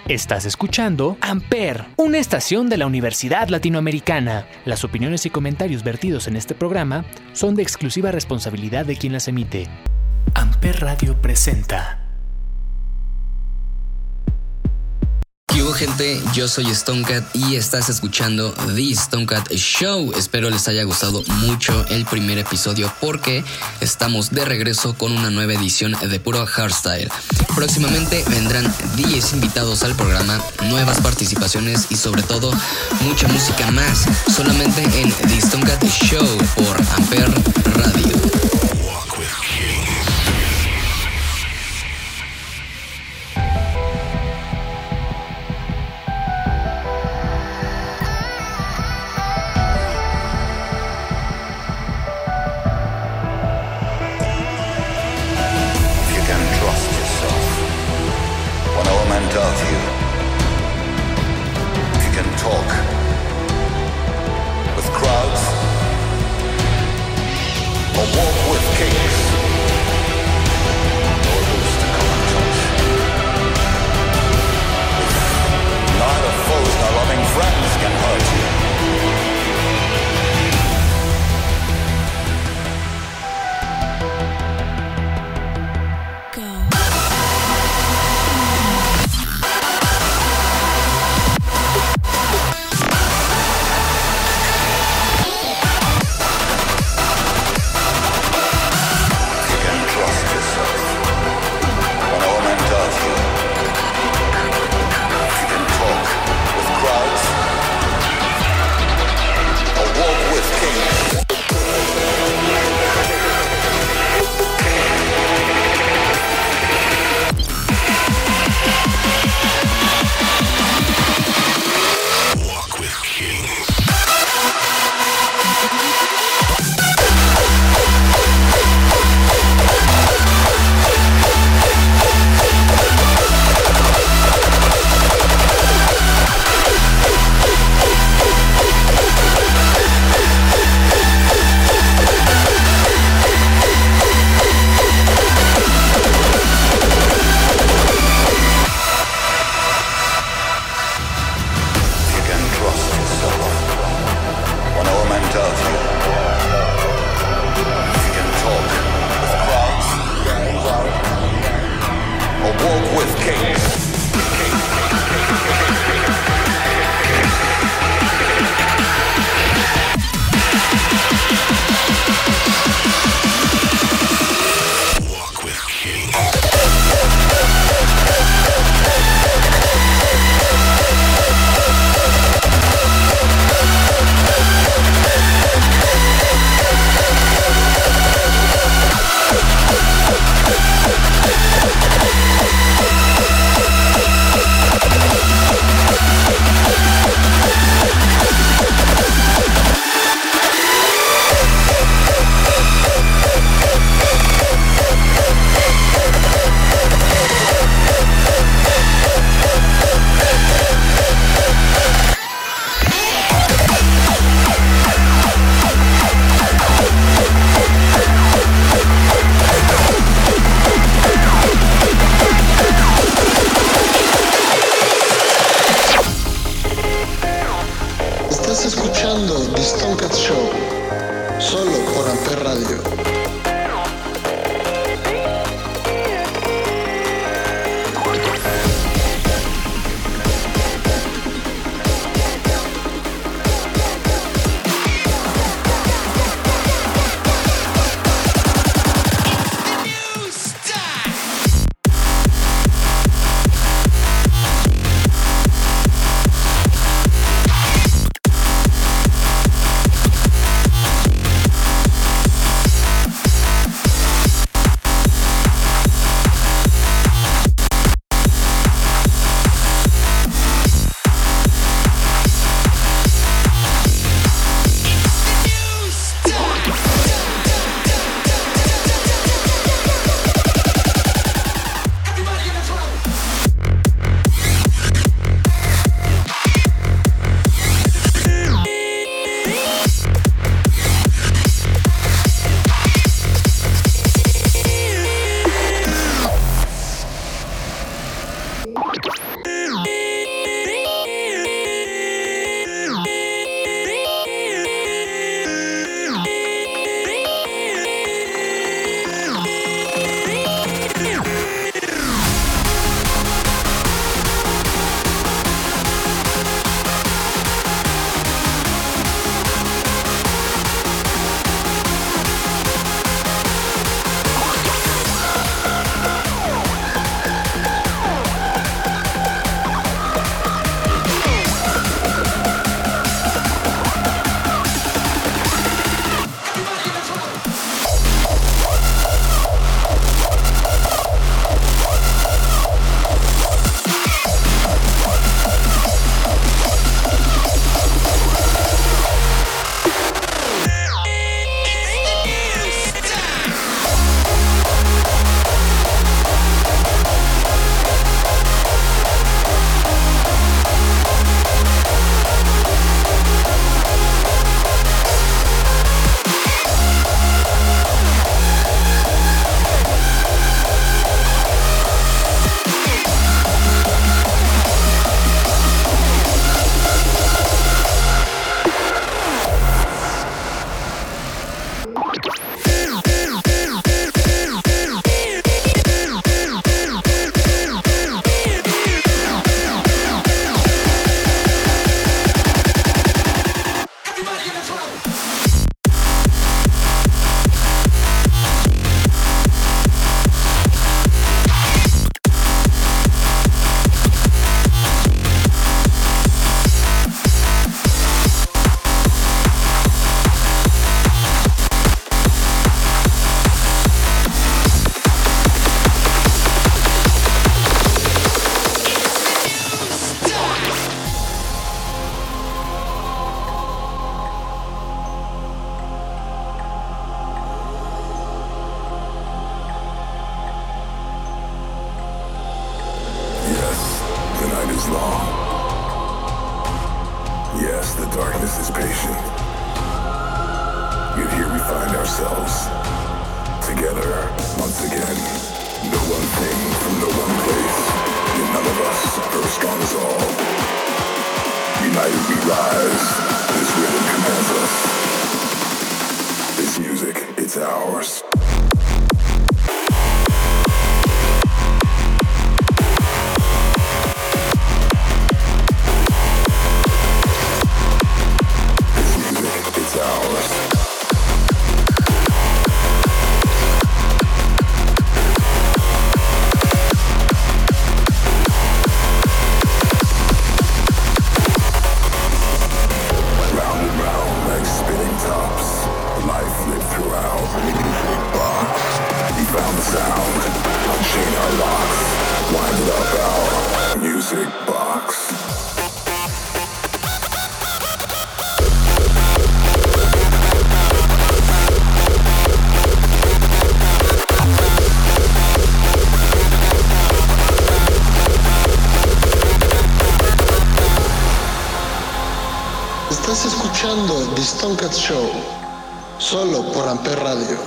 Estás escuchando Amper, una estación de la Universidad Latinoamericana. Las opiniones y comentarios vertidos en este programa son de exclusiva responsabilidad de quien las emite. Amper Radio presenta. ¿Qué hubo, gente? Yo soy Stonecat y estás escuchando The Stonecat Show. Espero les haya gustado mucho el primer episodio porque estamos de regreso con una nueva edición de puro hardstyle. Próximamente vendrán DJs invitados al programa, nuevas participaciones y sobre todo mucha música más, solamente en The Stonecat Show por Amper Radio. Of you. If you can talk with crowds or walk with kings, or lose to common touch. Neither foes nor loving friends can hurt you. Yes, the night is long. Yes, the darkness is patient. Yet here we find ourselves, together once again. No one thing from no one place, yet none of us are as strong as all. United we rise, this rhythm commands us. This music, it's ours. Estás escuchando The Stonecat Show, solo por Amper Radio.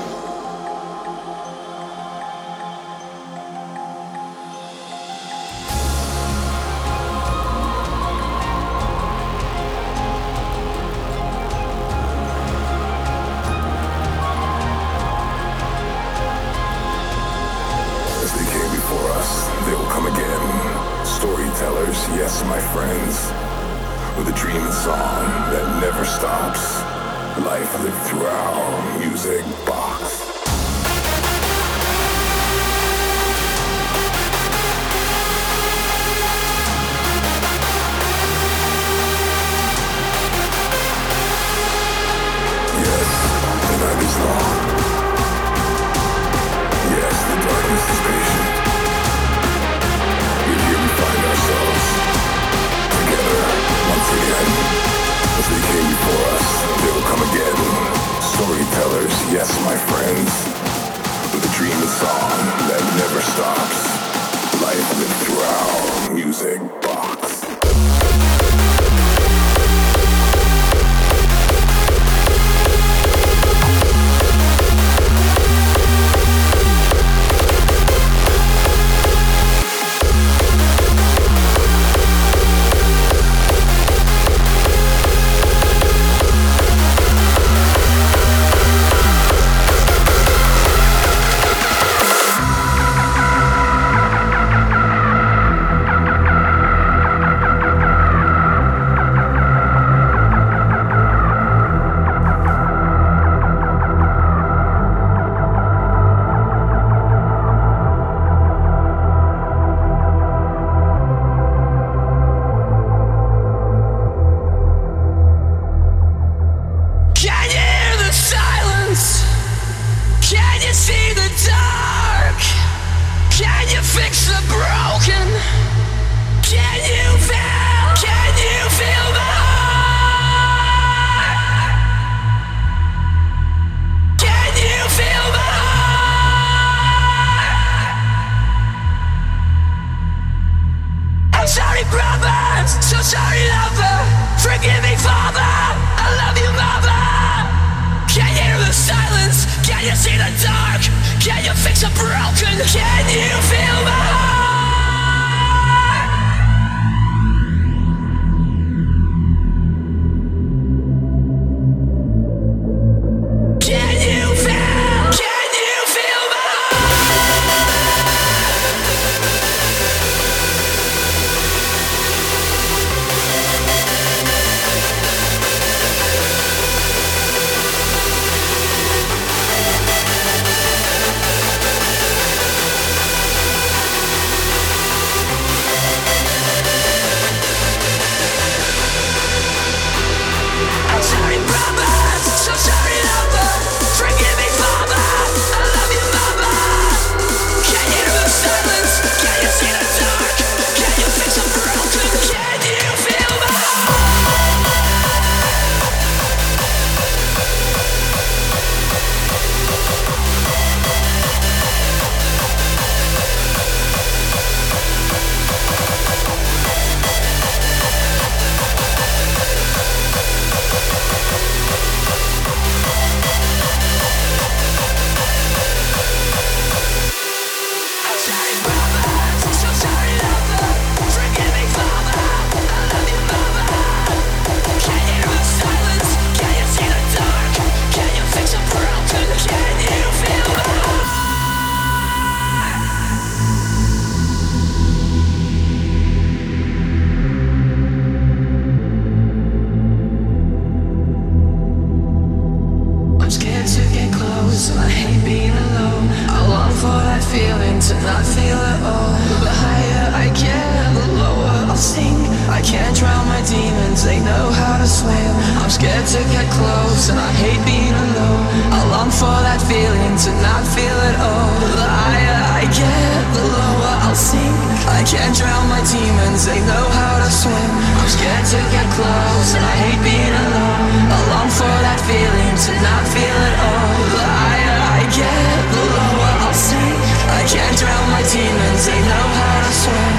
As they came before us, they will come again. Storytellers, yes, my friends. With a dream and song that never stops. Life lived through our music box. Yes, the night is long. Yes, the darkness is patient. Yet here we find ourselves, together once again. As they came before us, they will come again. Storytellers, yes, my friends. With a dream and song that never stops. Life lived through our music box. scared to get close and I hate being alone. I long for that feeling to not feel at all. The higher I get, the lower I'll sink. I can't drown my demons, they know how to swim. I'm scared to get close and I hate being alone. I long for that feeling to not feel at all. The higher I get, the lower I'll sink. I can't drown my demons, they know how to swim.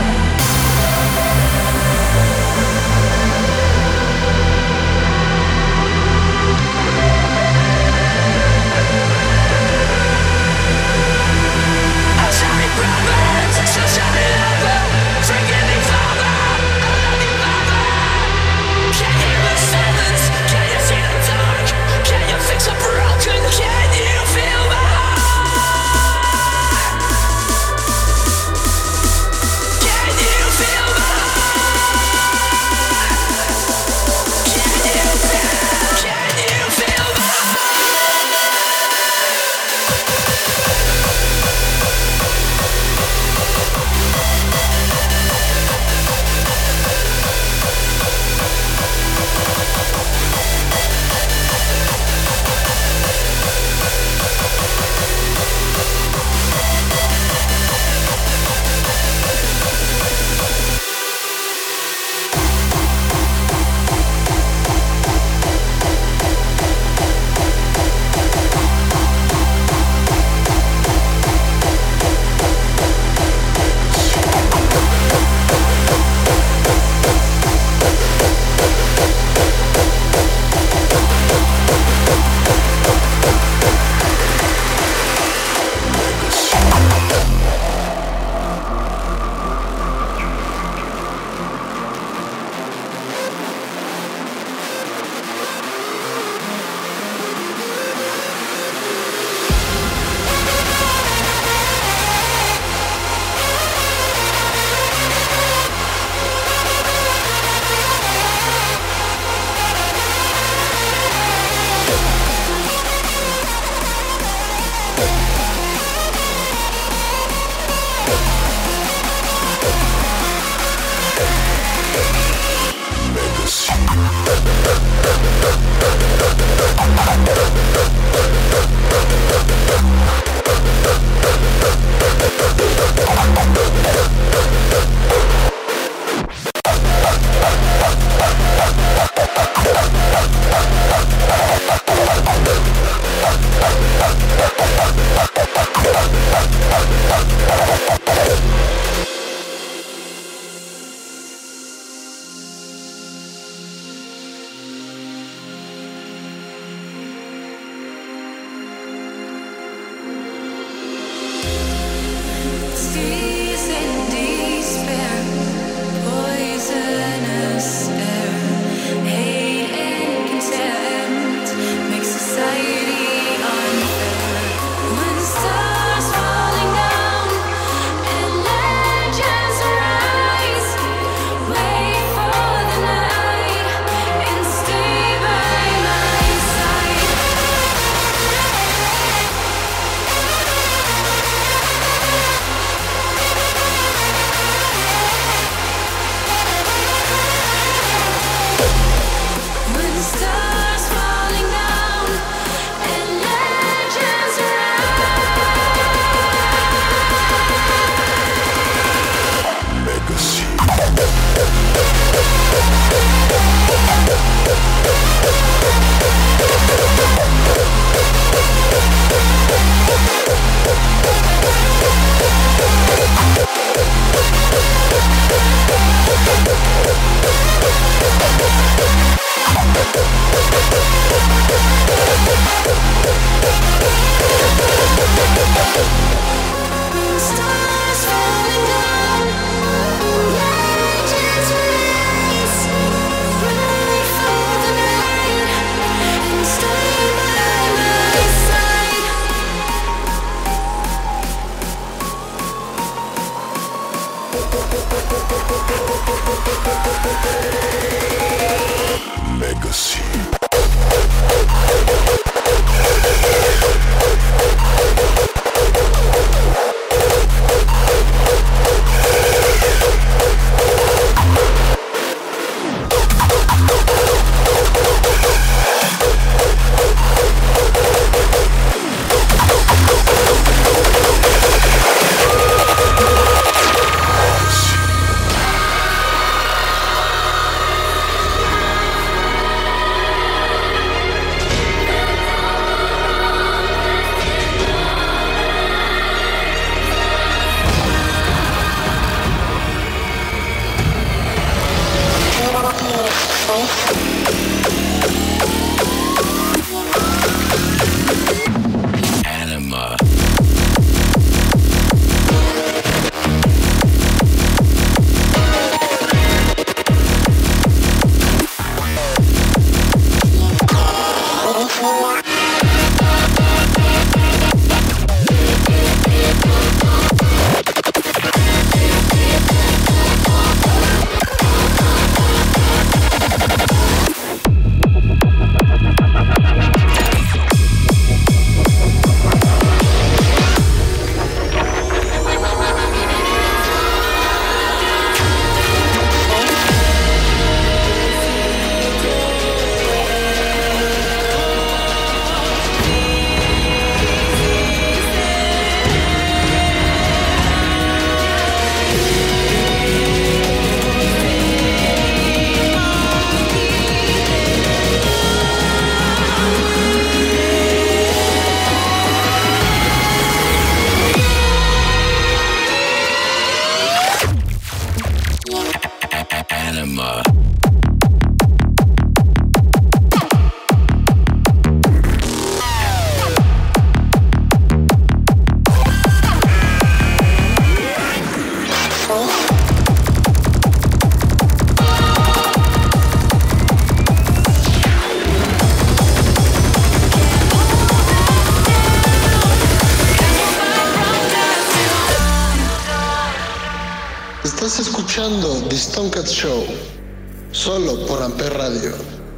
Estás escuchando The Stonecat Show, solo por Amper Radio.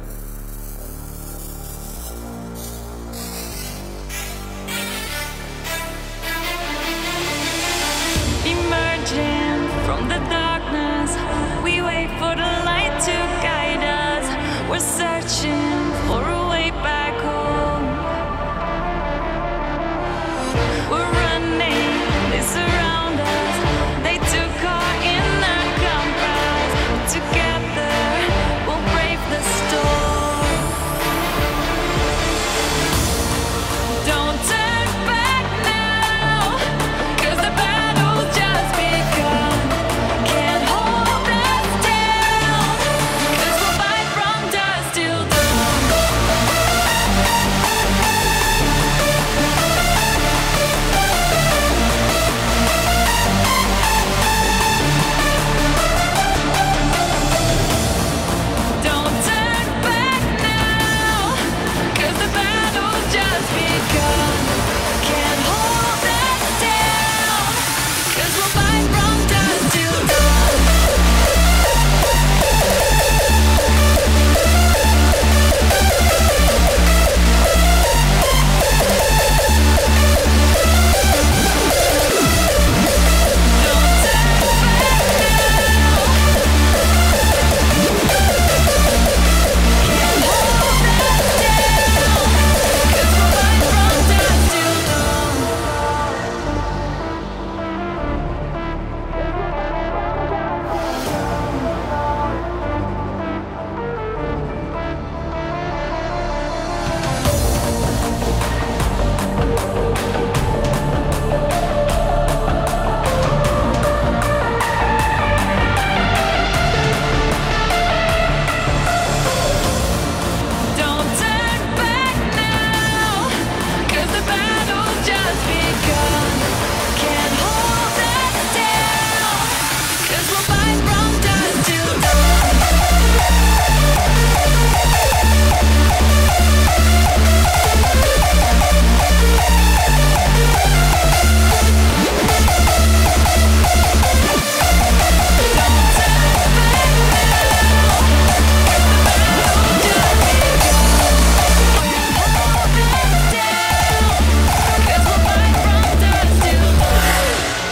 Emerging from the darkness, we wait for the light to guide us. We're searching for a way back home. We're running, they surround us. They took our inner compass. Together, we'll brave the storm. Don't turn back now, 'cause the battle's just begun. Can't hold us down, 'cause we'll fight from dusk till dawn. Don't turn back now, 'cause the battle's just begun. Can't hold us down, 'cause we'll fight from dusk till dawn. Don't turn back now. Can't hold us down, 'cause we'll fight from dusk till dawn. Don't turn back now, 'cause the battle's just begun. Can't hold us down, 'cause we'll fight from dusk till dawn. Don't turn back now, 'cause the battle's just begun. Can't hold us down, 'cause we'll fight from dusk till dawn.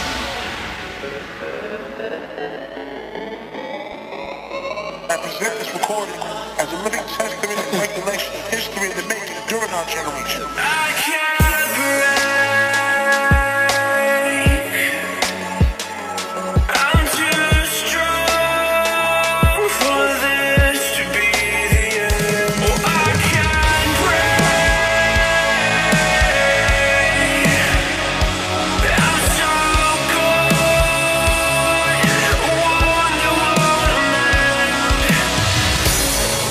I present this recording as a living testament of regulation of history in the making during our generation. I can't break. I'm too strong for this to be the end. Oh, I can't break. I'm so good. Wonder what I'm at.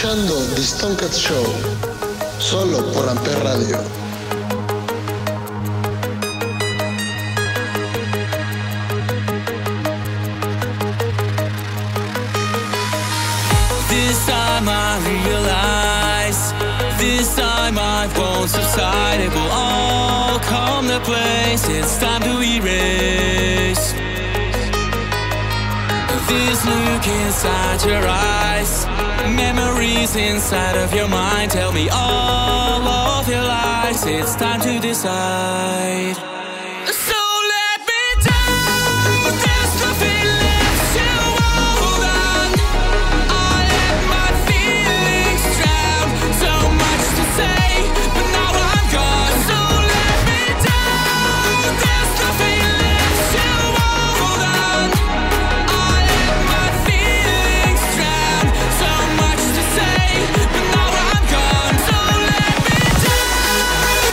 escuchando The Stonecat Show, solo por Amper Radio. This time I realize, this time I won't subside. It will all come to place. It's time to erase this look inside your eyes. Memories inside of your mind tell me all of your lies. It's time to decide. So let me down. There's nothing left to hold on. I let my feelings drown. So much to say, but now I'm gone. So let me down. There's nothing left to hold on. I let my feelings drown. So much to say, but now I'm gone. So let me down.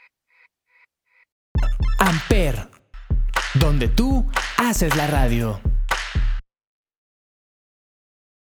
Amper, donde tú haces la radio.